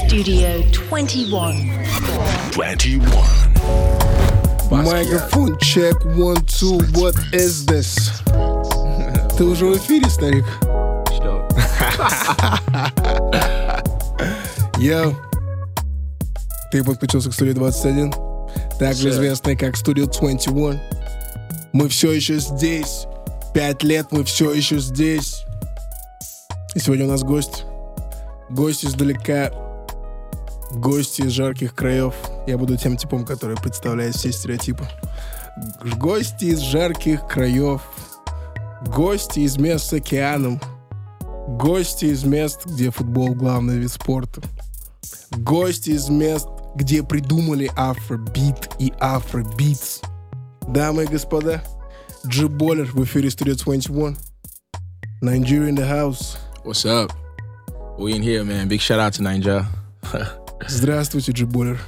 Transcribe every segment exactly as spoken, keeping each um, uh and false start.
Studio twenty-one. twenty-one. Microphone check, one, two, what is this? Ты уже в эфире, старик? Что? Йоу. Ты подключился к студии двадцать один, также известной как Studio двадцать один. Мы все еще здесь. Пять лет мы все еще здесь. И сегодня у нас гость. Гость издалека. Гости из жарких краев. Я буду тем типом, который представляет все стереотипы. Гости из жарких краев. Гости из мест с океаном. Гости из мест, где футбол главный вид спорта. Гости из мест, где придумали афробит и афробитс. Дамы и господа, G-Baller в эфире Studio двадцать один. Nigeria in the house. What's up? We in here, man. Big shout out to Nigeria. Здравствуйте, G-Baller.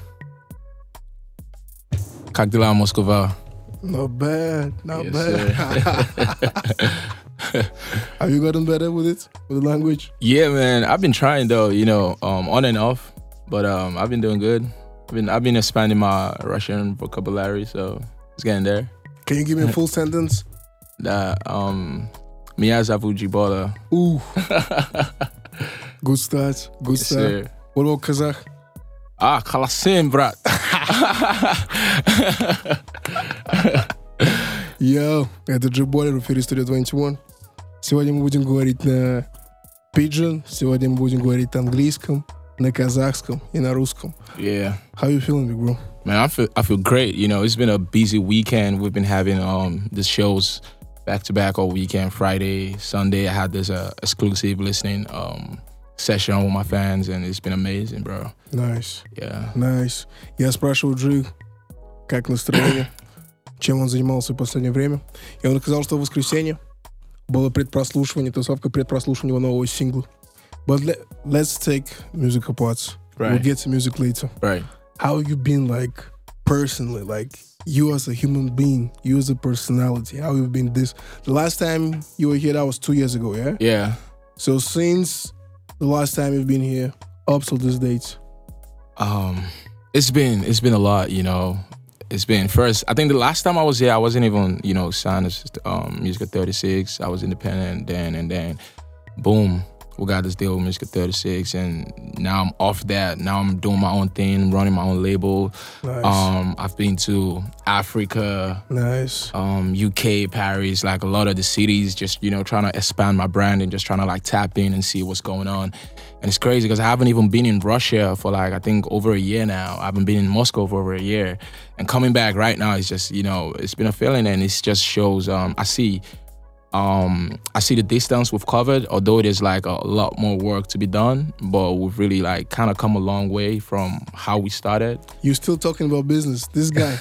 Как дела, Москва? Not bad, not Yes, bad. Have you gotten better with it, with the language? Yeah, man. I've been trying though, you know, um, on and off, but um, I've been doing good. I've been I've been expanding my Russian vocabulary, so it's getting there. Can you give me a full sentence? That um, Меня зовут G-Baller. Ooh. Good start, good Yes, start. sir. What about Kazakh? Ah, Kalasim, брат. Йоу, это G-Baller в эфире Studio двадцать один. Сегодня мы будем говорить на Pidgin, сегодня мы будем говорить на английском, на казахском и на русском. Yeah. How you feeling, big bro? Man, I feel I feel great. You know, it's been a busy weekend. We've been having um the shows back to back all weekend. Friday, Sunday, I had this uh, exclusive listening um session with my fans, and it's been amazing, bro. Nice, Yeah. nice. Я спрашивал Джи, как настроение, чем он занимался в последнее время. И он сказал, что в воскресенье было предпрослушивание, тусовка предпрослушивания его нового сингла. But let, let's take musical parts. Right. We'll get to music later. Right. How you been, like, personally, like, you as a human being, you as a personality, how you been this? The last time you were here, that was two years ago, yeah? Yeah. So since the last time you've been here, up till this date? Um, it's been it's been a lot, you know. It's been first. I think the last time I was here, I wasn't even, you know, signed as um, Music thirty-six. I was independent then, and then, boom, we got this deal with Music thirty-six, and now I'm off that. Now I'm doing my own thing, running my own label. Nice. Um, I've been to Africa, Nice. um, U K, Paris, like a lot of the cities, just, you know, trying to expand my brand and just trying to like tap in and see what's going on. And it's crazy because I haven't even been in Russia for like, I think over a year now. I haven't been in Moscow for over a year. And coming back right now, it's just, you know, it's been a feeling, and it just shows, um, I see, um, I see the distance we've covered, although there's like a lot more work to be done, but we've really like kind of come a long way from how we started. You still talking about business. This guy.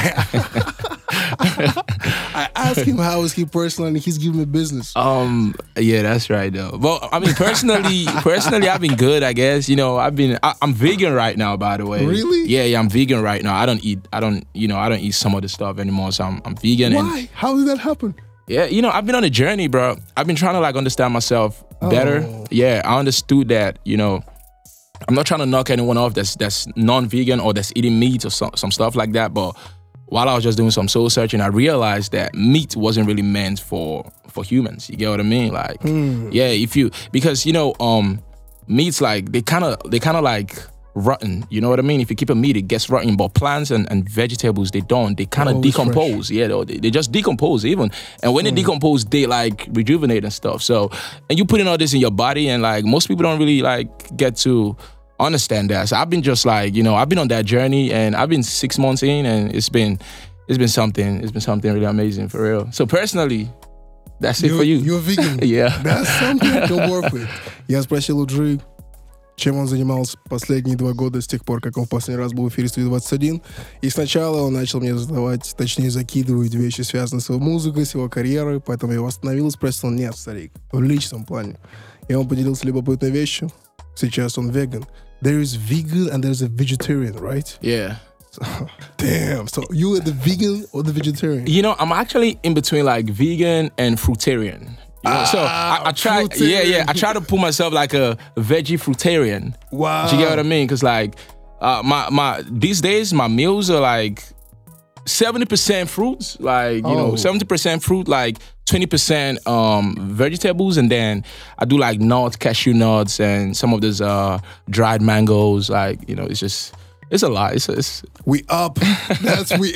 I asked him how is he personal, and he's giving me business. Um, yeah, that's right though. Well, I mean, personally, personally, I've been good, I guess. You know, I've been, I, I'm vegan right now, by the way. Really? Yeah, yeah, I'm vegan right now. I don't eat, I don't, you know, I don't eat some of the stuff anymore. So I'm, I'm vegan. Why? And How did that happen? yeah, you know, I've been on a journey, bro. I've been trying to like understand myself better. Oh. Yeah, I understood that, you know, I'm not trying to knock anyone off that's that's non-vegan or that's eating meat or some, some stuff like that. But while I was just doing some soul searching, I realized that meat wasn't really meant for for humans. You get what I mean? Like, Hmm. yeah, if you, because, you know, um, meat's like, they kind of, they kind of like rotten. You know what I mean? If you keep a meat, it gets rotten. But plants and, and vegetables, they don't. They kind of Always decompose. Yeah, they, they just decompose even. And when they decompose, they like rejuvenate and stuff. So, and you putting all this in your body, and like most people don't really like get to understand that. So I've been just like, you know, I've been on that journey, and I've been six months in, and it's been, it's been something. It's been something really amazing for real. So personally, that's it You- for you. You're vegan. Yeah. That's something I can work with. Я спросил у Джи, чем он занимался последние два года с тех пор, как он в последний раз был в эфире Studio двадцать один. И сначала он начал мне задавать, точнее закидывать вещи, связанные с его музыкой, с его карьерой. Поэтому я его остановил и спросил: нет, старик, в личном плане. И он поделился любопытной вещью. Сейчас он веган. There is vegan and there's a vegetarian, right? Yeah. Damn. So you are the vegan or the vegetarian? You know, I'm actually in between like vegan and fruitarian. You know? So I, I try, fruitarian. yeah, yeah. I try to put myself like a veggie fruitarian. Wow. Do you get what I mean? Because like, uh, my my these days my meals are like seventy percent fruits, like you Oh. know, seventy percent fruit, like twenty percent um vegetables, and then I do like nuts, cashew nuts, and some of those uh dried mangoes. Like you know, it's just it's a lot. It's it's We up. That's we.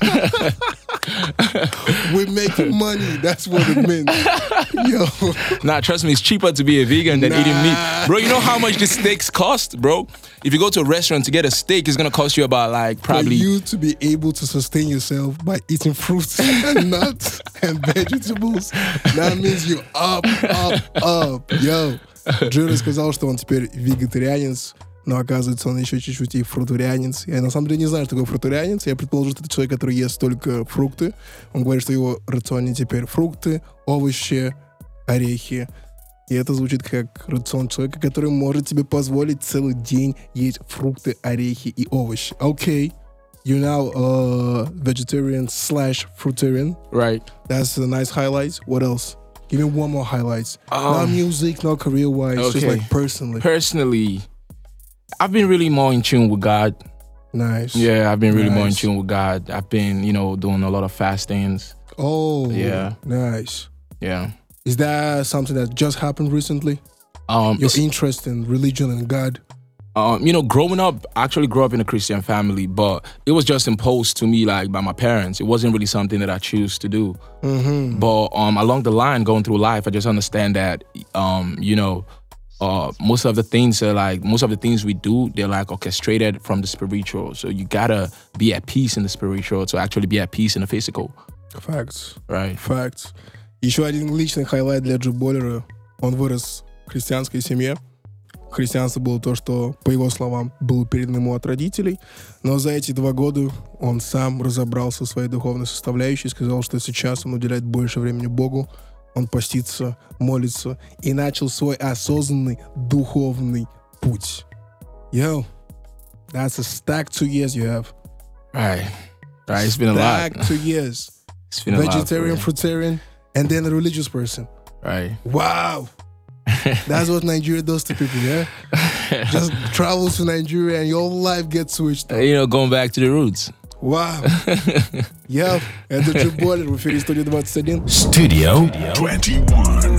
We making money. That's what it means. Yo. Nah, trust me, it's cheaper to be a vegan than Nah. eating meat. Bro, you know how much the steaks cost, bro? If you go to a restaurant to get a steak, it's gonna cost you about like For probably you to be able to sustain yourself by eating fruits and nuts and vegetables, that means you up, up, up. Yo. Джиро сказал, что он теперь вегетарианец, но оказывается он еще чуть-чуть и фрутарианец. Я на самом деле не знаю, что такое фрутарианец. Я предположу, что это человек, который ест только фрукты. Он говорит, что его рационе теперь фрукты, овощи, орехи. И это звучит как рацион человека, который может себе позволить целый день есть фрукты, орехи и овощи. Окей. Okay. You're now a vegetarian slash fruitarian. right. That's a nice highlight. What else? Give me one more highlights. Um, not music, not career-wise, just okay. like personally. Personally, I've been really more in tune with God. Nice. Yeah, I've been really more in Nice. tune with God. I've been, you know, doing a lot of fastings. Oh, Yeah. nice. Yeah. Is that something that just happened recently? Um, Your it's- interest in religion and God? um, you know, growing up, I actually grew up in a Christian family, but it was just imposed to me like by my parents. It wasn't really something that I choose to do. Mm-hmm. But um, along the line, going through life, I just understand that, um, you know, uh, most of the things are like most of the things we do, they're like orchestrated from the spiritual. So you gotta be at peace in the spiritual to actually be at peace in the physical, Facts. right? Facts. Еще один личный хайлайт для Джо Боллера. Он вырос в христианской семье. Христианство было то, что, по его словам, было передано ему от родителей. Но за эти два года он сам разобрался в своей духовной составляющей и сказал, что сейчас он уделяет больше времени Богу. Он постится, молится и начал свой осознанный духовный путь. Yo, that's a stack two years you have. Right, right. It's been a Stack lot. two years. It's been a lot. Vegetarian, for fruitarian, and then a religious person. me. Right. Wow. That's what Nigeria does to people, yeah? Just travel to Nigeria and your life gets switched. Uh, You know, going back to the roots. Вау. Я, это Джо Боллер в эфире Студия двадцать один. Studio twenty-one.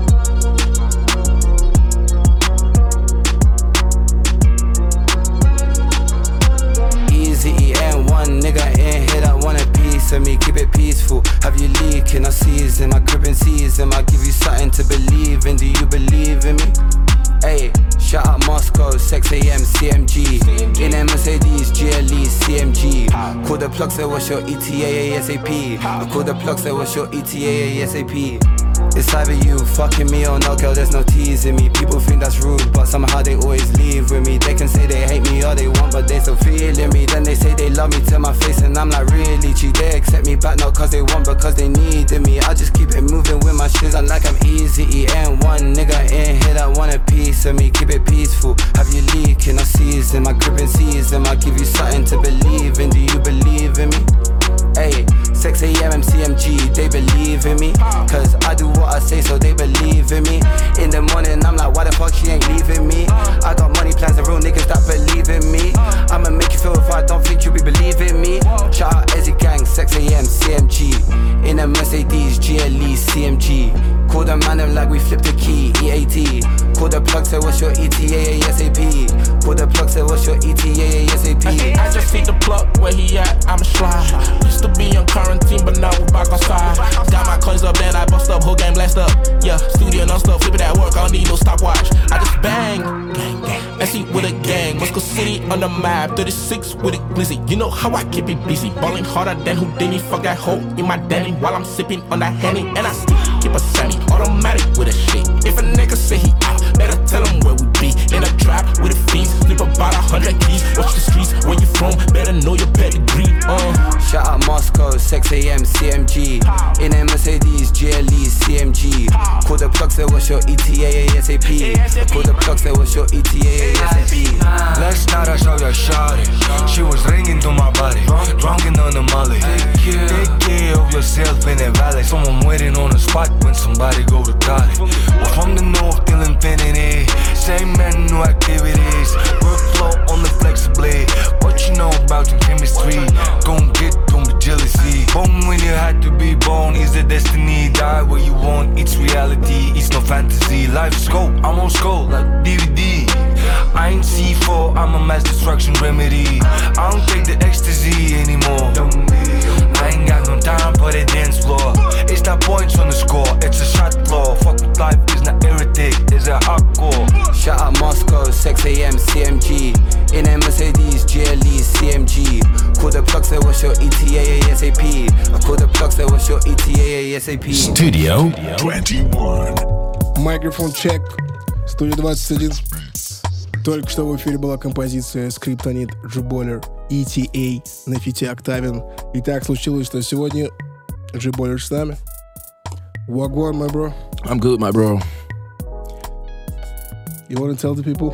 Easy E N one nigga in here that want a piece of me, keep it peaceful. Have you leaking? I season, I crib and season. I give you something to believe in. Do you believe in me? Hey, shout out Moscow, six a.m. C M G. In a Mercedes, G L E, C M G. Call the plug, say what's your E T A ASAP. I call the plug, say what's your E T A ASAP. It's either you fucking me or no, girl, there's no teasing me. People think that's rude, but somehow they always leave with me. They can say they hate me all they want, but they still feeling me. Then they say they love me to my face, and I'm like, really, G? They accept me back, not cause they want, because they needed me. I just keep it moving with my shoes on like I'm easy. E N one nigga in here that want a piece of me, keep it peaceful. Have you leaking? I season, my grip and season. I give you something to believe in. Do you believe in me? Hey, six a.m. C M G, they believe in me. Cause I do what I say, so they believe in me. In the morning, I'm like, why the fuck she ain't leaving me? I got money plans and real niggas that believe in me. I'ma make you feel if I don't think you be believing me. Shout out Ezzy Gang, six a.m. C M G. In a Mercedes, G L E, C M G. Call the man them like we flipped the key, E A T. Call the plug, say what's your E T A ASAP. Call the plug, say what's your E T A ASAP. I just see the plug where he at, I'ma slide. Used to be on quarantine, but now we back outside. Got my coins up, then I bust up, whole game blast up. Yeah, studio non-stop, flip it at work, I don't need no stopwatch. I just bang, gang, gang. S E with a gang, Moscow City on the map, thirty-six with it glizzy. You know how I keep it busy, balling harder than Houdini. Fuck that hoe in my Danny while I'm sipping on that Henny. And I still keep a semi-automatic with a shit. If a nigga say he out, better tell him where we be. In a trap with a fiends, flip about a hundred keys. Watch the streets, where you from, better know your pedigree. Uh. Shout out Moscow, six a.m. C M G. In a Mercedes, G L E, C M G. Call the plug, say what's your E T A ASAP. Call the plug, say what's your E T A ASAP. Last night I saw your shawty. She was ringing through my body, drunken on the molly. Take care of yourself in that valley. Someone waiting on the spot when somebody go to college. We're from the north till infinity. Same man, new activities. Workflow on the flexibly. What you know about your chemistry? Gon' get, don't be jealousy. Born when you had to be born is the destiny. Die where you want, it's reality. It's no fantasy. Life scope, I'm on scope like D V D. I ain't C four, I'm a mass destruction remedy. I don't take the ecstasy anymore. I ain't got no time for the dance floor. It's not points on the score, it's a shot floor. Fuck with life, is not heretic, it's a hardcore. Shout out Moscow, six a.m. C M G. In a Mercedes, G L E, C M G. Call the plug, say what's your E T A ASAP. I call the plug, say what's your E T A ASAP. Studio twenty-one. Microphone check. Студия двадцать один. Только что в эфире была композиция Скриптонит, G-Baller, и ти эй на фите Октавин. И так случилось, что сегодня G-Baller с нами. Wagwan, my bro. I'm good, my bro. You want to tell the people?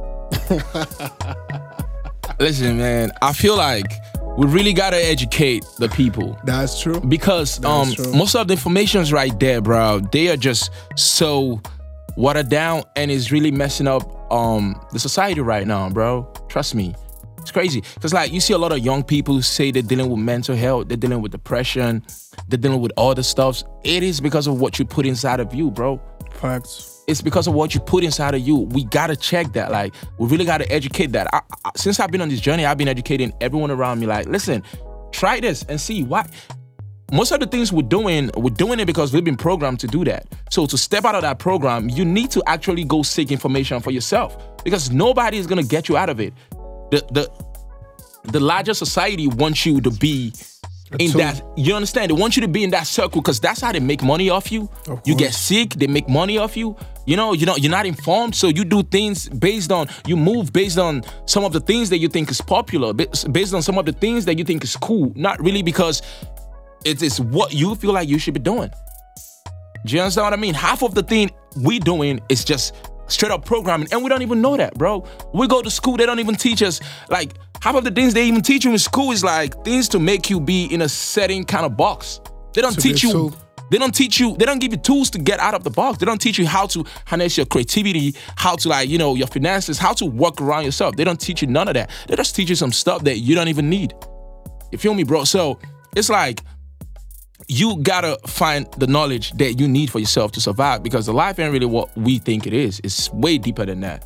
Listen, man, I feel like we really gotta educate the people. That's true. Because That's um, true. most of the information's right there, bro. They are just so watered down, and it's really messing up um the society right now, bro. Trust me. It's crazy. Because, like, you see a lot of young people say they're dealing with mental health, they're dealing with depression, they're dealing with all the stuff. It is because of what you put inside of you, bro. Facts. It's because of what you put inside of you. We gotta check that. Like, we really gotta educate that. I, I, since I've been on this journey, I've been educating everyone around me. Like, listen, try this and see why. Most of the things we're doing, we're doing it because we've been programmed to do that. So to step out of that program, you need to actually go seek information for yourself, because nobody is gonna get you out of it. The the the larger society wants you to be in So- that, you understand? They want you to be in that circle because that's how they make money off you. Of You get course. sick, they make money off you. You know, you know, you're not informed, so you do things based on, you move based on some of the things that you think is popular, ba- based on some of the things that you think is cool, not really because it is what you feel like you should be doing. Do you understand what I mean? Half of the thing we doing is just straight up programming, and we don't even know that, bro. We go to school, they don't even teach us, like, half of the things they even teach you in school is like things to make you be in a certain kind of box. They don't To teach be you, so- they don't teach you, they don't give you tools to get out of the box. They don't teach you how to harness your creativity, how to, like, you know, your finances, how to work around yourself. They don't teach you none of that. They just teach you some stuff that you don't even need. You feel me, bro? So it's like, you gotta find the knowledge that you need for yourself to survive, because the life ain't really what we think it is. It's way deeper than that.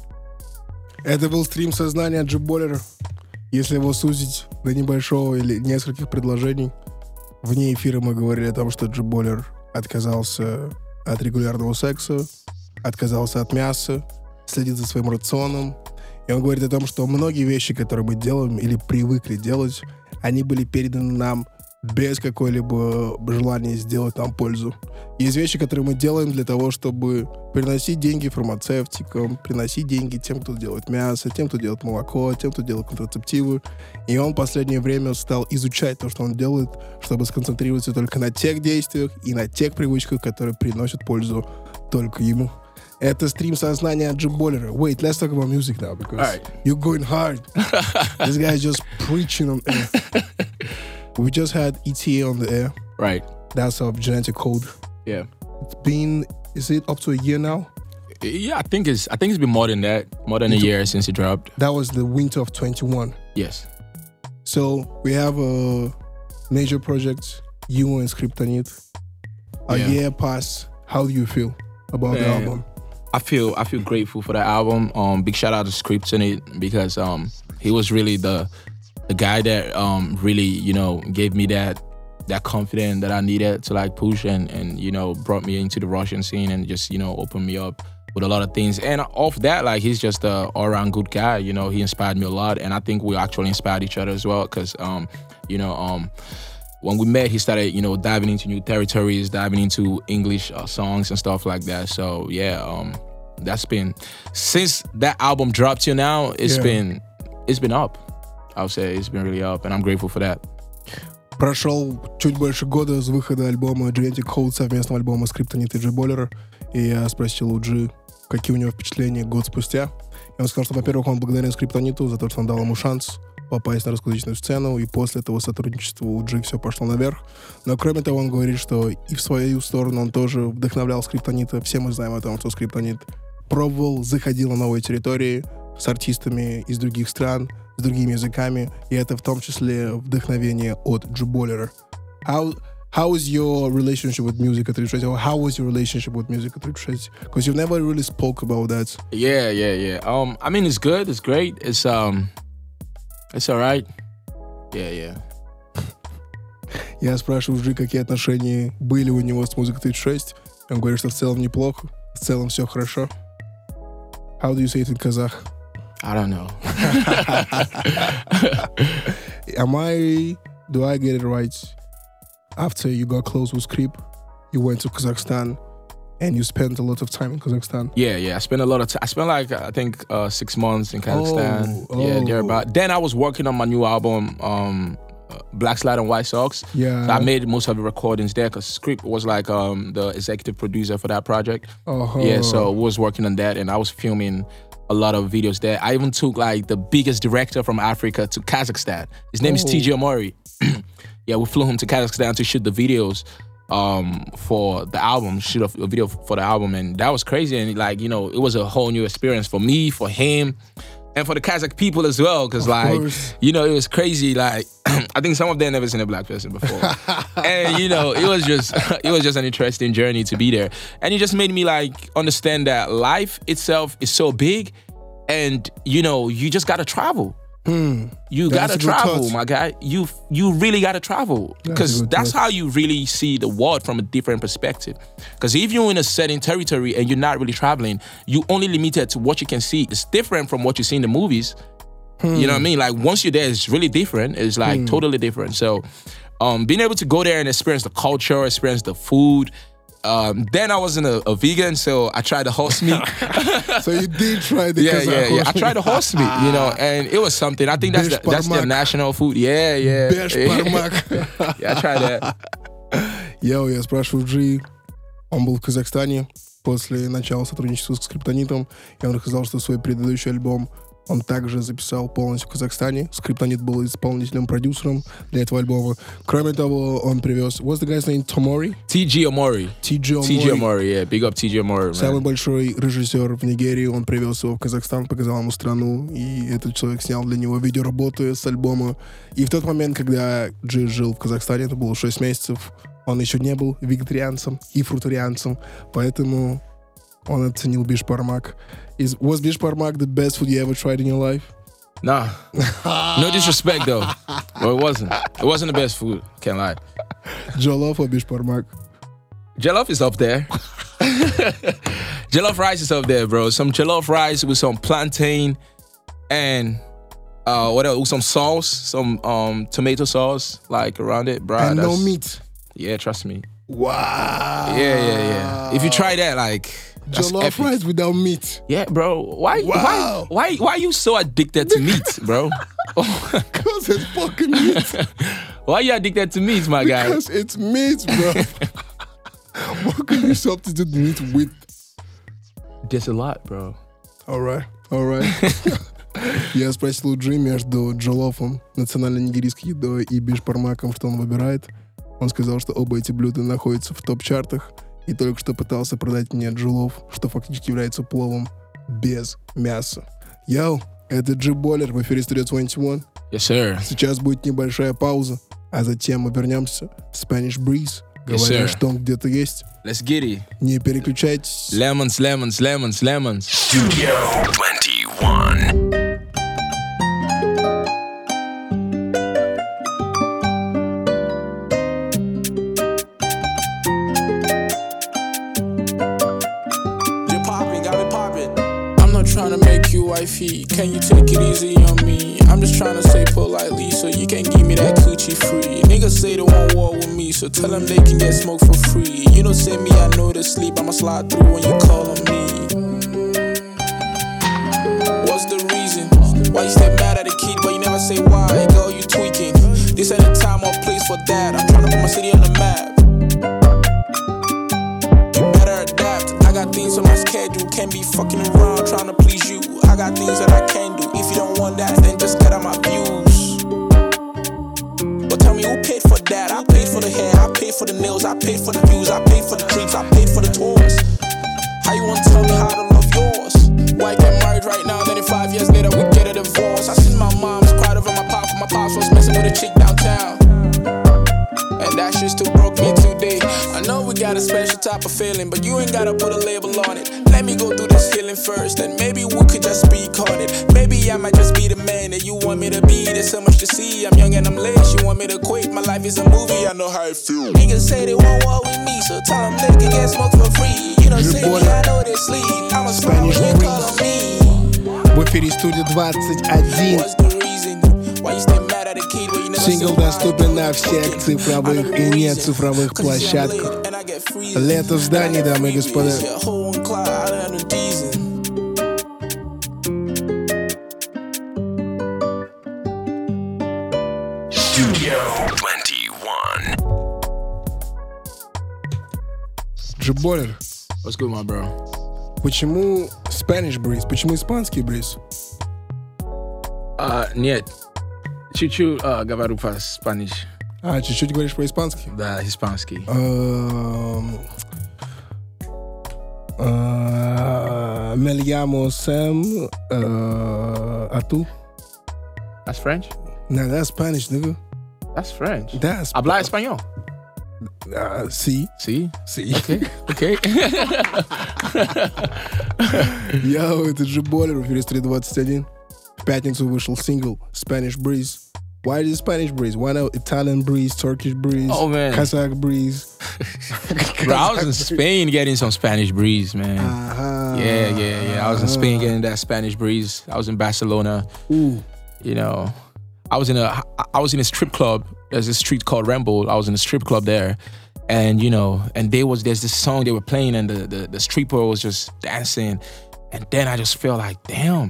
Это был стрим сознания G-Baller. Если его сузить до небольшого или нескольких предложений, вне эфира мы говорили о том, что G-Baller отказался от регулярного секса, отказался от мяса, следит за своим рационом. И он говорит о том, что многие вещи, которые мы делаем или привыкли делать, они были переданы нам без какой-либо желания сделать нам пользу. Есть вещи, которые мы делаем для того, чтобы приносить деньги фармацевтикам, приносить деньги тем, кто делает мясо, тем, кто делает молоко, тем, кто делает контрацептивы. И он в последнее время стал изучать то, что он делает, чтобы сконцентрироваться только на тех действиях и на тех привычках, которые приносят пользу только ему. Это стрим сознания G-Baller. Wait, let's talk about music now, because All right. you're going hard. This guy's just preaching on air. We just had E T A on the air. Right. That's of Genetic Code. Yeah. It's been, is it up to a year now? Yeah, I think it's I think it's been more than that. More than a year since it dropped. That was the winter of twenty-one. Yes. So we have a major project, you and Skryptonit. A Yeah. year passed. How do you feel about the Man. album? I feel I feel grateful for the album. Um, big shout out to Skryptonit, because um he was really the the guy that um really, you know, gave me that that confidence that I needed to, like, push and and you know, brought me into the Russian scene and just, you know, opened me up with a lot of things. And off that, like, he's just a all-around good guy. You know, he inspired me a lot, and I think we actually inspired each other as well, because um you know um when we met, he started, you know, diving into new territories, diving into English uh, songs and stuff like that. So yeah, um, that's been, since that album dropped till now, it's Yeah. been, it's been up. I would say it's been really up, and I'm grateful for that. Прошел чуть больше года с выхода альбома Genetic Code, совместного альбома Skryptonit и G-Baller. И я спросил у G, какие у него впечатления год спустя. И он сказал, что, во-первых, он благодарен Скриптониту за то, что он дал ему шанс попасть на русскоязычную сцену, и после этого сотрудничества у G все пошло наверх. Но кроме того, он говорит, что и в свою сторону он тоже вдохновлял Скриптонита. Все мы знаем о том, что Скриптонит пробовал, заходил на новые территории с артистами из других стран, с другими языками, и это в том числе вдохновение от G-Baller. How, how is your relationship with music at тридцать шесть? Or how was your relationship with music at тридцать шесть? Because you've never really spoke about that. Yeah, yeah, yeah. Um, I mean, it's good. It's great. It's um, it's alright. Yeah, yeah. Я спрашиваю G, какие отношения были у него с музыкой тридцать шесть. Он говорит, что в целом неплохо, в целом все хорошо. How do you say it in Kazakh? I don't know. Am I, do I get it right? After you got close with Skrip, you went to Kazakhstan and you spent a lot of time in Kazakhstan. Yeah, yeah. I spent a lot of time. I spent like, I think, uh, six months in Kazakhstan. Oh, yeah, oh. thereabout. Then I was working on my new album, um, uh, Black Slide and White Sox. Yeah. So I made most of the recordings there because Skrip was like um, the executive producer for that project. Uh-huh. Yeah, so we was working on that and I was filming a lot of videos there. I even took like the biggest director from Africa to Kazakhstan. His name oh. is T J Omori. Yeah, we flew him to Kazakhstan to shoot the videos um, for the album, shoot a, a video for the album. And that was crazy. And like, you know, it was a whole new experience for me, for him, and for the Kazakh people as well. Cause of like, course. You know, it was crazy. Like, I think some of them never seen a black person before. And you know, it was just, it was just an interesting journey to be there. And it just made me like understand that life itself is so big and you know, you just gotta travel. Hmm. You That's gotta travel, my guy. You you really gotta travel because that's, that's how you really see the world from a different perspective. Because if you're in a certain territory and you're not really traveling, you only limited to what you can see. It's different from what you see in the movies. Hmm. You know what I mean? Like once you're there, it's really different. It's like hmm. totally different. So, um, being able to go there and experience the culture, experience the food. Um, then I wasn't a, a vegan, so I tried the horse meat. So you did try the yeah, Kazakh yeah, yeah. horse I tried the horse meat, you know, and it was something. I think that's the, that's their national food. Yeah, yeah. Besh parmak. Yeah, I tried that. Йоу, я спрашиваю G, он был в Казахстане после начала сотрудничества с Скриптонитом, и он рассказал, что свой предыдущий альбом он также записал полностью в Казахстане. Скриптонит был исполнителем-продюсером для этого альбома. Кроме того, он привез... What's the guy's name? Tomori? T J Omori. T J Omori. T J Omori, yeah. Big up T J Omori, man. Самый большой режиссер в Нигерии. Он привез его в Казахстан, показал ему страну. И этот человек снял для него видеоработу с альбома. И в тот момент, когда G жил в Казахстане, это было шесть месяцев, он еще не был вегетарианцем и фрутарианцем. Поэтому он оценил бишпармак. Is, was bishparmak the best food you ever tried in your life? Nah. No disrespect, though. Well, it wasn't. It wasn't the best food. Can't lie. Jollof or bishparmak? Jollof is up there. Jollof rice is up there, bro. Some jollof rice with some plantain and uh, what else? With some sauce, some um, tomato sauce, like around it, bro. And no meat. Yeah, trust me. Wow. Yeah, yeah, yeah. If you try that, like. Jollof rice without meat. Yeah, bro. Why, wow. why, why, why are you so addicted to meat, bro? Because it's fucking meat. Why are you addicted to meat, my guy? Because it's meat, bro. What can you substitute meat with? There's a lot, bro. Alright, alright. Я спросил у Джи между джоллофом, национальной нигерийской едой, и бишпармаком, что он выбирает. Он сказал, что оба эти блюда находятся в топ-чартах. И только что пытался продать мне джоллоф, что фактически является пловом без мяса. Йоу, это G-Baller в эфире Studio двадцать один. Yes, sir. Сейчас будет небольшая пауза, а затем мы вернемся в Spanish Breeze. Говоря, yes, что он где-то есть. Let's get it. Не переключайтесь. Lemons, lemons, lemons, lemons. Studio двадцать один. Trying to make you wifey, can you take it easy on me? I'm just trying to say politely, so you can give me that coochie free. Niggas say they want war with me, so tell them they can get smoke for free. You don't say me, I know to sleep, I'ma slide through when you call on me. What's the reason? Why you stay mad at the kid, but you never say why? Girl, you tweaking. This ain't the time or place for that. I'm trying to put my city on the map. Got things on my schedule, can't be fucking around trying to please you. I got things that I can do. If you don't want that, then just cut out my views. bills, I paid for the views, I paid for the trips, I paid for the tours. How you wanna tell me how to love yours? Why get married right now, then in five years later we get a divorce? I seen my mom's cried over my pop, my pops was messing with a chick downtown. And that shit still broke me today. I know we got a special type of feeling, but you ain't gotta put a label on it. Let me go through this healing first, and maybe we could just speak on it. Maybe I might just be the man that you want me to be. There's so much to see, I'm young and I'm late. You want me to quit, my life is a movie, I know how it feels. Niggas say they want war with me, so tell them they can get smoked for free. You don't say me, I know they sleep. I'm a smile when you call on me. В эфире студия двадцать один. What's the reason? Why you stay mad at a kid when you never Сингл доступен на всех цифровых и нецифровых площадках. Лето в здании, дамы и господа. Studio двадцать один. Джиболер, What's good, my bro? почему Spanish Breeze? Почему испанский бриз? Uh, нет. Чуть-чуть uh, говорю по-спаниш. А, чуть-чуть говоришь по-испански? Да, испанский. Um, uh, me llamo Sam. Uh, ¿A tú? That's French? No, that's Spanish, nigga. That's French. That's Habla español. Uh, sí. Sí? Sí. Okay. Okay. Йоу, это Джиболер в эфире Street двадцать один. В пятницу вышел сингл Spanish Breeze. Why is it Spanish Breeze? Why not Italian Breeze, Turkish Breeze, Oh, man. Kazakh Breeze? Bro, I was in Spain getting some Spanish breeze, man. Uh-huh. Yeah, yeah, yeah. I was in Spain getting that Spanish breeze. I was in Barcelona. Ooh. You know, I was in a I was in a strip club. There's a street called Rambo. I was in a strip club there, and you know, and there was there's this song they were playing, and the the, the stripper was just dancing, and then I just felt like, damn,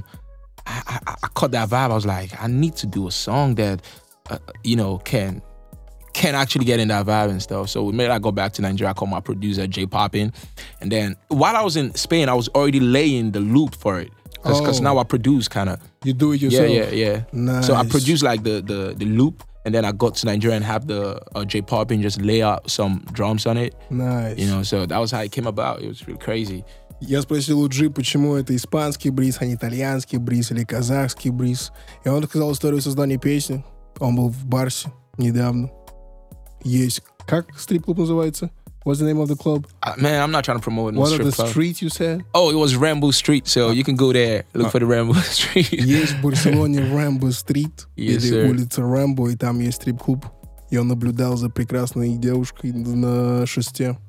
I, I I caught that vibe. I was like, I need to do a song that, uh, you know, can can actually get in that vibe and stuff. So maybe I go back to Nigeria. I called my producer Jay Poppin, and then while I was in Spain, I was already laying the loop for it. Because Oh. now I produce kind of. You do it Yeah, yourself? yeah, yeah. Nice. So I produced like the the the loop, and then I got to Nigeria and have the uh, J Poppin just lay out some drums on it. Nice. You know, so that was how it came about. It was really crazy. Я спросил у Джи, почему это испанский бриз, а не итальянский бриз или казахский бриз. И он рассказал историю создания песни. Он был в Барсе недавно. Есть... Как стрип-клуб называется? What's the name of the club? Uh, man, I'm not trying to promote no One of strip the club. streets, you said? Oh, it was Rambo Street, so you can go there, look for the Rambo Street. Есть в Барселоне Рэмбо-стрит, Yes, или sir. улица Рэмбо, и там есть стрип-клуб. И он наблюдал за прекрасной девушкой на шесте.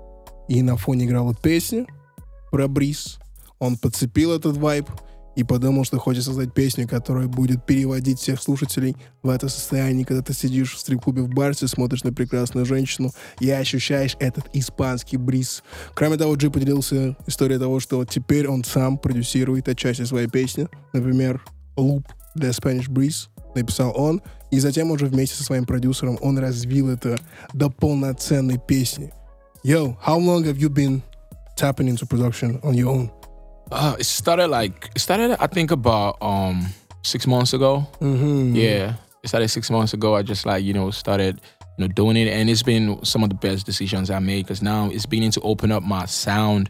И на фоне играла песня про бриз. Он подцепил этот вайб и подумал, что хочет создать песню, которая будет переводить всех слушателей в это состояние, когда ты сидишь в стрип-клубе в Барсе, смотришь на прекрасную женщину и ощущаешь этот испанский бриз. Кроме того, Джи поделился историей того, что теперь он сам продюсирует отчасти своей песни. Например, луп для Spanish Breeze написал он, и затем уже вместе со своим продюсером он развил это до полноценной песни. Yo, how long have you been tapping into production on your own? Uh, it started like it started I think about um six months ago. Mm-hmm. Yeah, it started six months ago. I just like you know started you know doing it, and it's been some of the best decisions I made because now it's beginning to open up my sound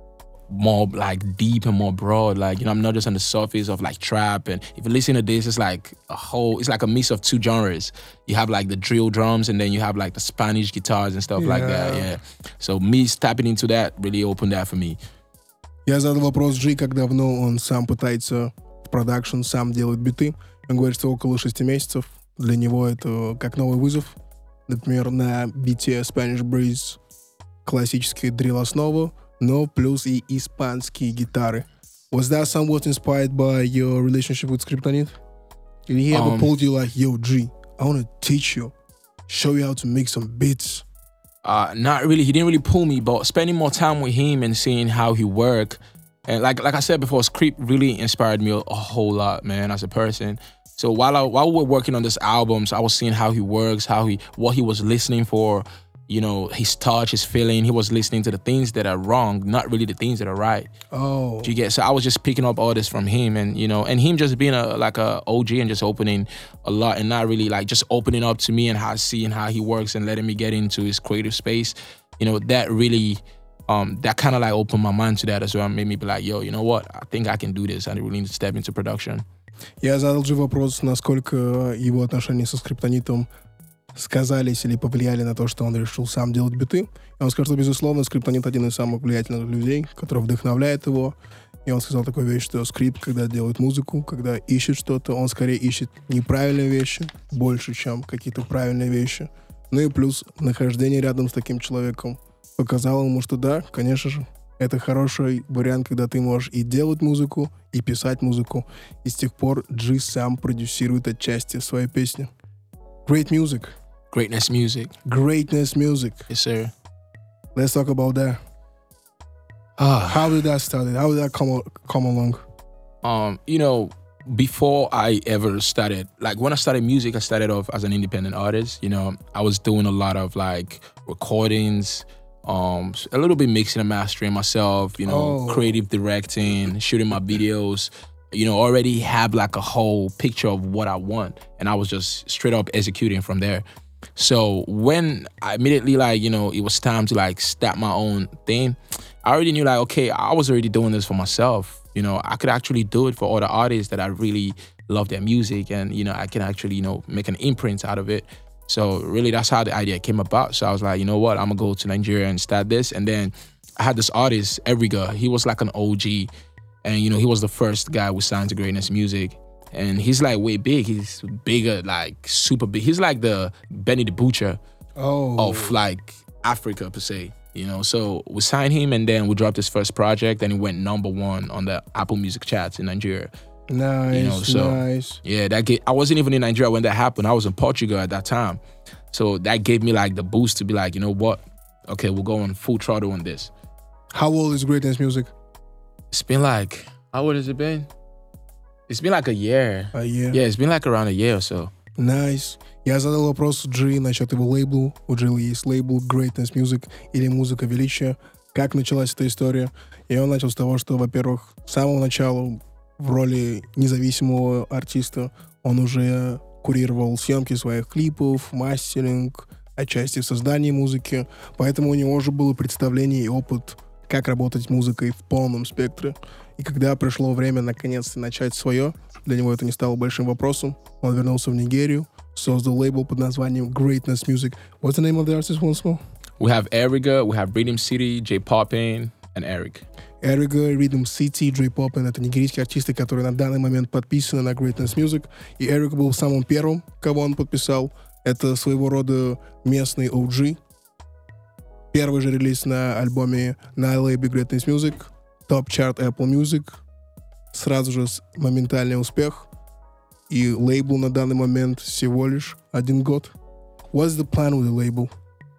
more like deep and more broad. Like you know I'm not just on the surface of like trap, and if you listen to this, it's like a whole. It's like a mix of two genres. You have like the drill drums, and then you have like the Spanish guitars and stuff like that. Yeah. Yeah. So me tapping into that really opened that for me. Я задал вопрос Джи, как давно он сам пытается в продакшн, сам делает биты. Он говорит, что около шести месяцев. Для него это как новый вызов. Например, на бите Spanish Breeze классическая дрилл-основа, но плюс и испанские гитары. Was that somewhat inspired by your relationship with Skryptonit? Did he ever Um, pulled you like, yo, G, I want to teach you, show you how to make some beats? Uh, not really. He didn't really pull me, but spending more time with him and seeing how he work, and like like I said before, Skrypt really inspired me a, a whole lot, man, as a person. So while I, while we were working on this albums, I was seeing how he works, how he what he was listening for, you know, his touch, his feeling. He was listening to the things that are wrong, not really the things that are right. Oh. Do you get? So I was just picking up all this from him, and you know, and him just being a like a O G and just opening a lot, and not really like just opening up to me and how seeing how he works and letting me get into his creative space. You know, that really, um, that kind of like opened my mind to that as well, and made me be like, yo, you know what? I think I can do this. I really need to step into production. Я задал же вопрос, насколько его отношения со Скриптонитом сказались или повлияли на то, что он решил сам делать биты. И он сказал, что, безусловно, Скриптонит один из самых влиятельных людей, который вдохновляет его. И он сказал такую вещь, что Скрипт, когда делает музыку, когда ищет что-то, он скорее ищет неправильные вещи больше, чем какие-то правильные вещи. Ну и плюс нахождение рядом с таким человеком показало ему, что да, конечно же, это хороший вариант, когда ты можешь и делать музыку, и писать музыку. И с тех пор Джи сам продюсирует отчасти своей песни. Great music. Greatness music. Greatness music. Yes, sir. Let's talk about that. How did that start? How did that come come along? Um, you know, before I ever started, like when I started music, I started off as an independent artist. You know, I was doing a lot of like recordings, um, a little bit mixing and mastering myself, you know, Oh. creative directing, shooting my videos, you know, already have like a whole picture of what I want. And I was just straight up executing from there. So when I immediately like, you know, it was time to like start my own thing, I already knew like, okay, I was already doing this for myself. You know, I could actually do it for other artists that I really love their music, and, you know, I can actually, you know, make an imprint out of it. So really that's how the idea came about. So I was like, you know what, I'm gonna go to Nigeria and start this. And then I had this artist, Eriga. He was like an O G. And, you know, he was the first guy we signed to Greatness Music. And he's like way big. He's bigger, like super big. He's like the Benny the Butcher Oh. of like Africa per se. You know, so we signed him, and then we dropped his first project, and it went number one on the Apple Music charts in Nigeria. Nice, You know, so- nice. Yeah, that gave, I wasn't even in Nigeria when that happened. I was in Portugal at that time. So that gave me like the boost to be like, you know what? Okay, we'll go on full throttle on this. How old is Greatness Music? It's been like, how old has it been? It's been like a year. A year. Yeah, it's been like around a year or so. Nice. Я задал вопрос Джи насчет его лейбла. У Джи есть лейбл Greatness Music или Музыка Величия. Как началась эта история? И он начал с того, что, во-первых, с самого начала в роли независимого артиста он уже курировал съемки своих клипов, мастеринг, отчасти в создании музыки. Поэтому у него уже было представление и опыт, как работать с музыкой в полном спектре. И когда пришло время наконец-то начать свое, для него это не стало большим вопросом. Он вернулся в Нигерию, создал лейбл под названием Greatness Music. What's the name of the artist once more? We have Eriga, we have Rhythm City, J Poppin, and Eric. Eriga, Rhythm City, Джей Poppin — это нигерийские артисты, которые на данный момент подписаны на Greatness Music. И Эрик был самым первым, кого он подписал. Это своего рода местный о джи. Первый же релиз на альбоме на лейбле Greatness Music. Топ-чарт Apple Music. Сразу же моментальный успех. И лейбл на данный момент всего лишь один год. What's the plan with the label?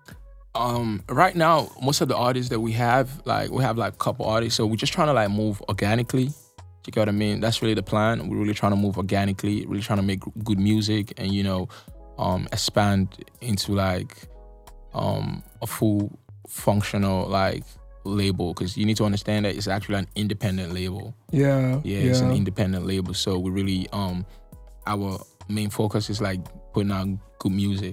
Um, right now, most of the artists that we have, like we have like a couple artists, so we're just trying to like move organically. You get what I mean? That's really the plan. We're really trying to move organically, really trying to make good music, and, you know, um, expand into like um, a full functional like label, because you need to understand that it's actually an independent label. Yeah, Yeah, it's an independent label. So we really, um, our main focus is like putting out good music.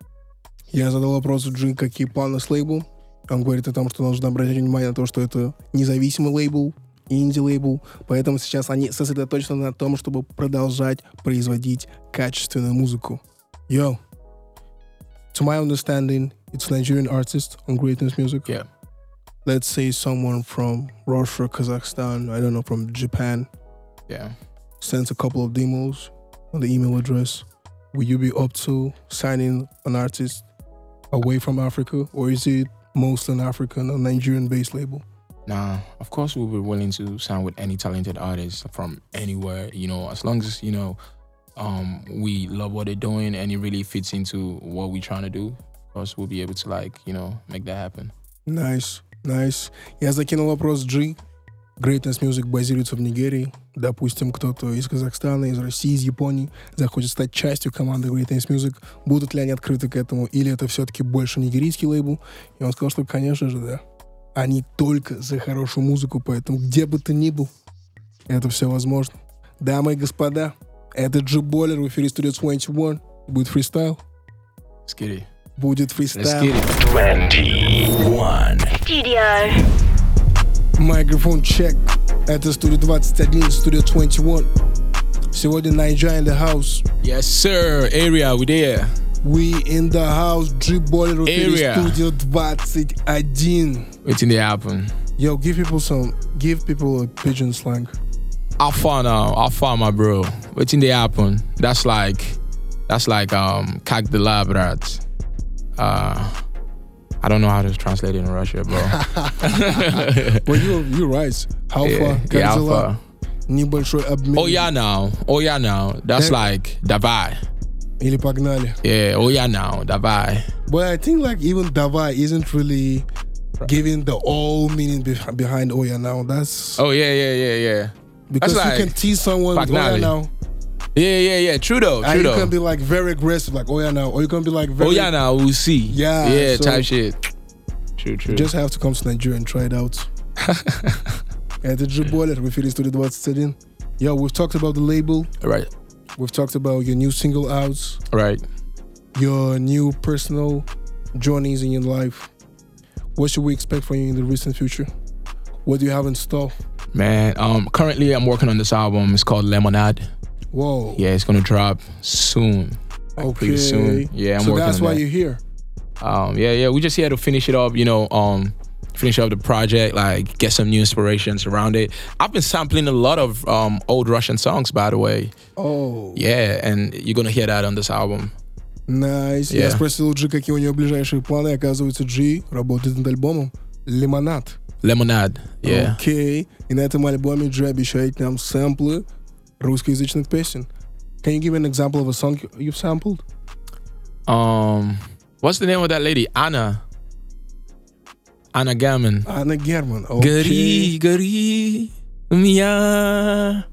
Я задал вопрос Джи, какие планы с лейблом. Он говорит о том, что нужно обратить внимание на то, что это независимый лейбл, инди-лейбл. Поэтому сейчас они сосредоточены на том, чтобы продолжать производить качественную музыку. Yo, to my understanding, it's Nigerian artist on Greatness Music. Yeah. Let's say someone from Russia, Kazakhstan, I don't know, from Japan, Yeah. sends a couple of demos on the email address. Will you be up to signing an artist away from Africa, or is it mostly an African or Nigerian-based label? Nah, of course we'll be willing to sign with any talented artist from anywhere, you know, as long as, you know, um, we love what they're doing and it really fits into what we're trying to do. Of course, we'll be able to, like, you know, make that happen. Nice, nice. Я закинул вопрос Джи. Greatness Music базируется в Нигерии. Допустим, кто-то из Казахстана, из России, из Японии захочет стать частью команды Greatness Music. Будут ли они открыты к этому? Или это все-таки больше нигерийский лейбл? И он сказал, что, конечно же, да. Они только за хорошую музыку, поэтому где бы ты ни был, это все возможно. Дамы и господа, это G-Baller в эфире Studio двадцать один. Будет фристайл? Let's get it. Будет Let's фристайл. get it. twenty-one. Studio. Микрофон чек. Это Studio двадцать один, Studio двадцать один. Сегодня Найджа in the house. Yes, sir. Area, we there. We in the house. G-Baller в эфире Area. Studio двадцать один. Waiting to happen. Yo, give people some, give people a pigeon slang. How far now? How far, my bro? Waiting to happen. That's like, that's like um, как дела, брат? Uh, I don't know how to translate it in Russia, bro. But you, you're right. How yeah, far? Как yeah, how дела? far? Небольшой обмен. Oh yeah, now. Oh yeah, now. That's That- like давай. Или погнали. Yeah. Oh yeah, now. Давай. But I think like even Davai isn't really giving the all meaning be- behind Oya now. That's Oh yeah, yeah, yeah, yeah. because that's you like can tease someone with Oya Pagnali. now. Yeah, yeah, yeah. True though. True And you though. can be like very aggressive, like Oya now, or you can be like very. Oh yeah, now we'll see. Yeah, Yeah, so- type shit. True, true. You just have to come to Nigeria and try it out. Это G-Baller в эфире Studio двадцать один. Yo, we've talked about the label. right, We've talked about your new single outs, right. your new personal journeys in your life. What should we expect from you in the recent future? What do you have in store? Man, um, currently I'm working on this album. It's called Lemonade. Whoa. Yeah, it's gonna drop soon. Like, Okay. pretty soon. Yeah, I'm so working that's on why that. you're here. Um, yeah, yeah. We just here to finish it up. You know, um, finish up the project. Like, get some new inspirations around it. I've been sampling a lot of um old Russian songs, by the way. Oh. Yeah, and you're gonna hear that on this album. Найс. Yeah. Я спросил Джи, какие у него ближайшие планы. Оказывается, Джи работает над альбомом «Лимонад». Lemonade. Yeah. Окей. И на этом альбоме Джи обещает нам сэмплы русскоязычных песен. Can you give an example of a song you've sampled? Um, what's the name of that lady? Anna. Anna Gammon. Анна Герман. Гори, Окей. гори, у меня.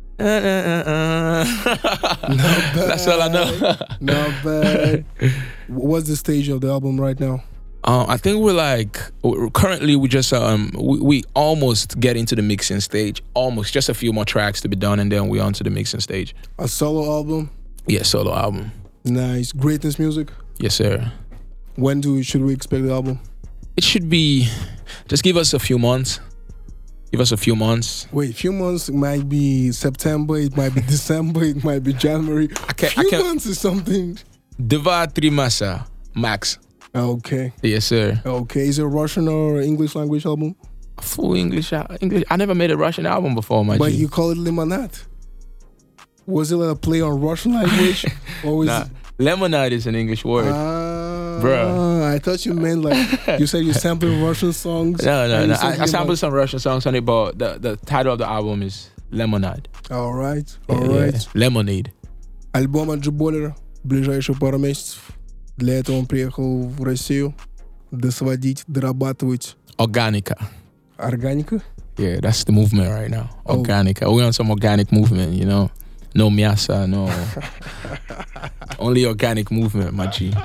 That's all I know. Not bad. What's the stage of the album right now? Um, I think we're like we're- currently we just um we, we almost get into the mixing stage. Almost, just a few more tracks to be done, and then we're on to the mixing stage. A solo album? Yeah, solo album. Nice. Greatness Music? Yes, sir. When do we, should we expect the album? It should be. Just give us a few months. Give us a few months. Wait, a few months it might be September, it might be December, it might be January. I can't- few I can't- months is something. Dva tri masa max. Okay. Yes, sir. Okay. Is it a Russian or English language album? Full English. uh, English. I never made a Russian album before, my But G. you call it Limonade. Was it a play on Russian language? or was Nah, it, lemonade is an English word. Ah, Bruh. I thought you meant like you said you sampled Russian songs. no, no, and no. you I, I said sampled some Russian songs on it, but the, the title of the album is Lemonade. All right, Yeah, all yeah. right. Lemonade. Альбом от G-Baller ближайшие пару месяцев. Для этого он приехал в Россию досводить, дорабатывать. Organica. Органика? Yeah, that's the movement right now. Oh. Organica. We're on some organic movement, you know. No miasa, no. Only organic movement, my G.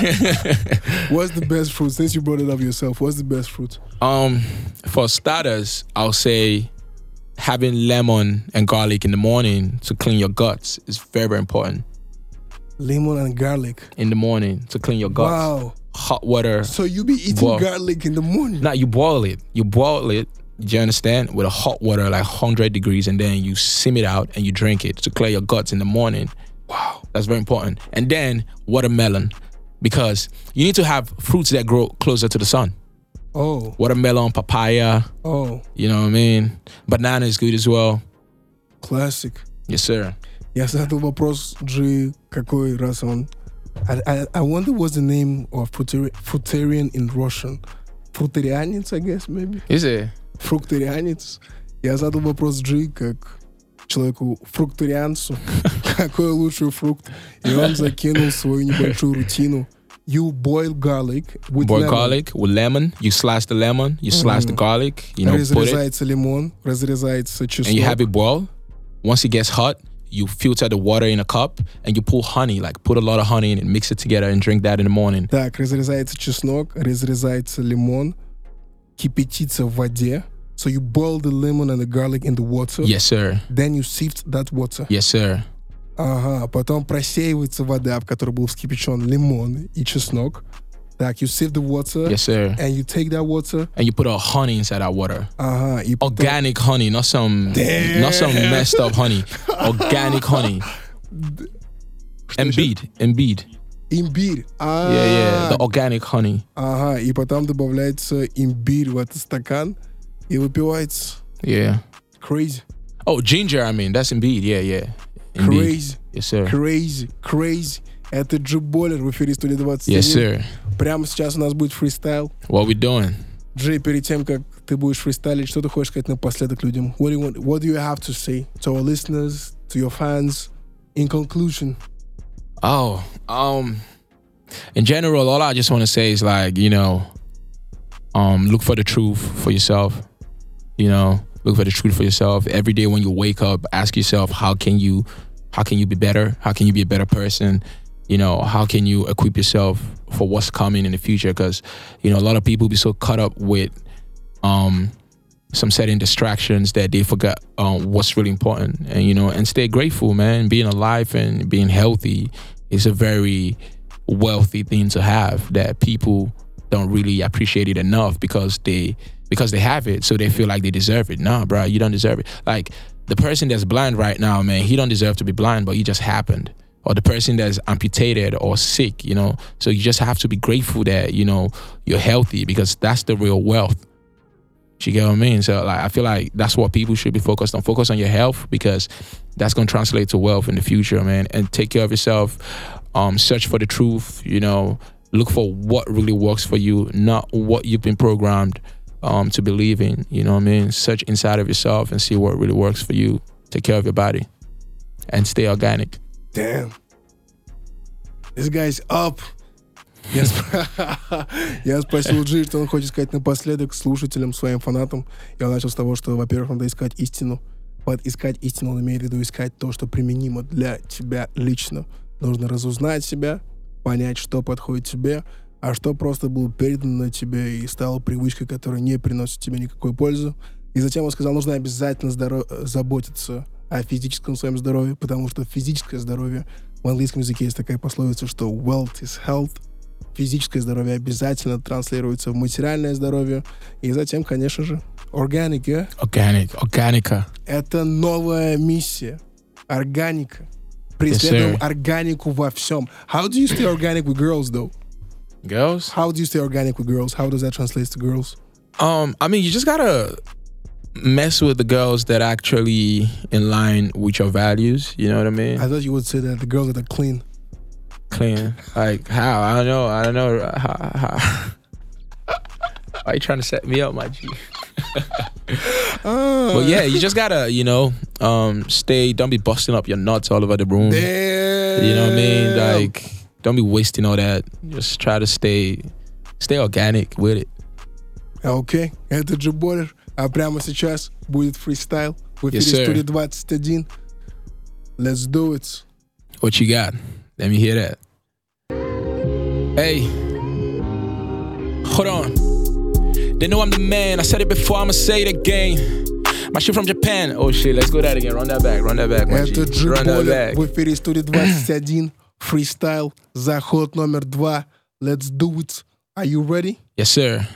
What's the best fruit? Since you brought it up yourself, what's the best fruit? Um, for starters, I'll say having lemon and garlic in the morning to clean your guts is very, very important. Lemon and garlic. In the morning to clean your guts. Wow. Hot water. So you be eating Wow. garlic in the morning? Now you boil it. You boil it. Do you understand? With a hot water, like one hundred degrees, and then you sim it out and you drink it to clear your guts in the morning. Wow, that's very important. And then watermelon, because you need to have fruits that grow closer to the sun. Oh, Watermelon, papaya. oh, You know what I mean? Banana is good as well. classic. Yes, sir. Я задал вопрос G, какой раз он... I, I, I wonder what's the name of fruitari- fruitarian in Russian. Fruitarianец, I guess, maybe? Is it? Фруктарианец. Я задал вопрос G, как человеку фруктарианцу, какой лучший фрукт. И он закинул свою небольшую рутину. you boil garlic with Boil lemon. garlic with lemon. You slice the lemon. You slice mm. the garlic. You know, put it. Разрезается лимон, разрезается чеснок. And you have it boil. Once it gets hot, you filter the water in a cup and you pour honey, like put a lot of honey in it, mix it together and drink that in the morning. Так, разрезается чеснок, разрезается лимон, кипятится в воде. So you boil the lemon and the garlic in the water. Yes, sir. Then you sift that water. Yes, sir. Ага, потом просеивается вода, в которой был вскипячен лимон и чеснок. Так, you sift the water. Yes, sir. And you take that water. And you put a honey inside that water. Ага, и потом... Organic honey, not some, Damn. not some messed up honey. Organic honey. Embiid, Embiid. Имбирь. А-а-а. Yeah, yeah, the organic honey. Ага, и потом добавляется имбирь в этот стакан и выпивается. Yeah. Crazy. Oh, ginger, I mean, that's Embiid, yeah, yeah. Embiid. Crazy. Yes, sir. Crazy, crazy. Это Джиболер в эфире студии двадцать один. Yes, sir. Прямо сейчас у нас будет фристайл. What we doing? Джей, перед тем, как ты будешь фристайлить, что ты хочешь сказать напоследок людям? What do you want, what do you have to say to our listeners, to your fans, in conclusion? Oh, um, in general, all I just want to say is like, you know, um, look for the truth for yourself. You know, look for the truth for yourself. Every day when you wake up, ask yourself, how can you, how can you be better? How can you be a better person? You know, how can you equip yourself for what's coming in the future? Because, you know, a lot of people be so caught up with um, some certain distractions that they forgot um, what's really important. And, you know, and stay grateful, man. Being alive and being healthy is a very wealthy thing to have that people don't really appreciate it enough because they because they have it, so they feel like they deserve it. Nah, bro, you don't deserve it. Like, the person that's blind right now, man, he don't deserve to be blind, but he just happened. Or the person that's amputated or sick, you know. So you just have to be grateful that, you know, you're healthy because that's the real wealth. You get what I mean? So like, I feel like that's what people should be focused on. Focus on your health because that's going to translate to wealth in the future, man. And take care of yourself. Um, search for the truth, you know. Look for what really works for you, not what you've been programmed um, to believe in. You know what I mean? Search inside of yourself and see what really works for you. Take care of your body and stay organic. Damn. This guy's up. Я, сп... Я спросил Джи, что он хочет сказать напоследок слушателям, своим фанатам. Я начал с того, что, во-первых, надо искать истину. Под искать истину он имеет в виду искать то, что применимо для тебя лично. Нужно разузнать себя, понять, что подходит тебе, а что просто было передано тебе и стало привычкой, которая не приносит тебе никакой пользы. И затем он сказал, нужно обязательно здоров... заботиться о физическом своем здоровье, потому что физическое здоровье, в английском языке есть такая пословица, что wealth is health. Физическое здоровье обязательно транслируется в материальное здоровье. И затем, конечно же, organic, yeah? Organic, органика. Это новая миссия. Органика. Преследуем yes, органику во всем. How do you stay organic with girls, though? Girls? How do you stay organic with girls? How does that translate to girls? Um, I mean, you just gotta mess with the girls that are actually in line with your values. You know what I mean? I thought you would say that the girls that are clean. Clean? Like how? I don't know. I don't know. How, how. Why are you trying to set me up, my G? uh, but yeah, you just gotta, you know, um, stay. Don't be busting up your nuts all over the room. Damn. You know what I mean? Like, don't be wasting all that. Just try to stay, stay organic with it. Okay, это Джиболер. А прямо сейчас будет фристайл в эфире yes, студии двадцать один. Let's do it. What you got? Let me hear that. Hey, hold on. They know I'm the man. I said it before, I'ma say it again. My shit from Japan. Oh shit, let's go that again. Run that back, run that back, my Это G. Run that back. В эфире студии двадцать один. Фристайл. Заход номер два. Let's do it. Are you ready? Yes, sir.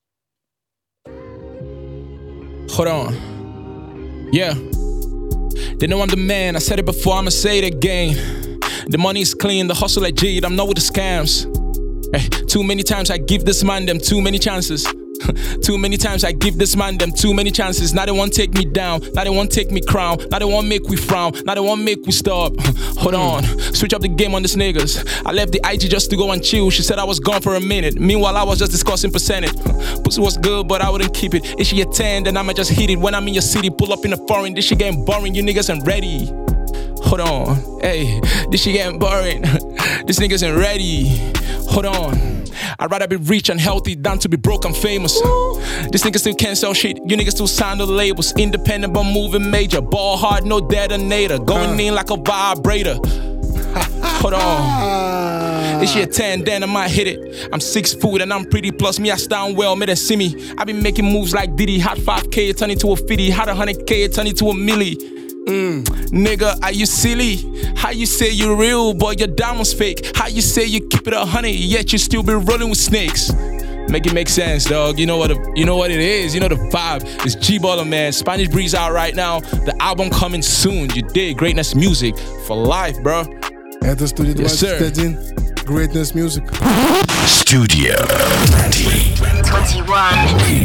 Hold on. Yeah. They know I'm the man. I said it before, I'ma say it again. The money is clean, the hustle like G, I'm not with the scams. Hey, too many times I give this man them too many chances. Too many times I give this man them too many chances. Now they won't take me down, now they won't take me crown. Now they won't make we frown, now they won't make we stop. Hold on, switch up the game on these niggas. I left the I G just to go and chill. She said I was gone for a minute. Meanwhile I was just discussing percentage. Pussy was good but I wouldn't keep it. If she a ten then I'ma just hit it. When I'm in your city, pull up in a foreign. This shit getting boring, you niggas ain't ready. Hold on, hey, this shit getting boring. This niggas ain't ready. Hold on, I'd rather be rich and healthy than to be broke and famous. This niggas still can't sell shit. You niggas still sign the labels. Independent but moving major. Ball hard, no detonator. Going in like a vibrator. Hold on. This shit ten, then I might hit it. I'm six foot and I'm pretty. Plus me, I stand well, made them see me. I been making moves like Diddy. Hot five K, turn into a fifty. Hot one hundred K, turn into a milli. Mm. Nigga, are you silly? How you say you real, boy, your diamonds fake? How you say you keep it a hundred, yet you still be rolling with snakes? Make it make sense, dog. You know what the, you know what it is. You know the vibe. It's G-Baller, man. Spanish Breeze out right now. The album coming soon. You dig? Greatness Music for life, bro. Это студия Yes, sir. двадцать один. Greatness Music. Studio twenty. twenty-one.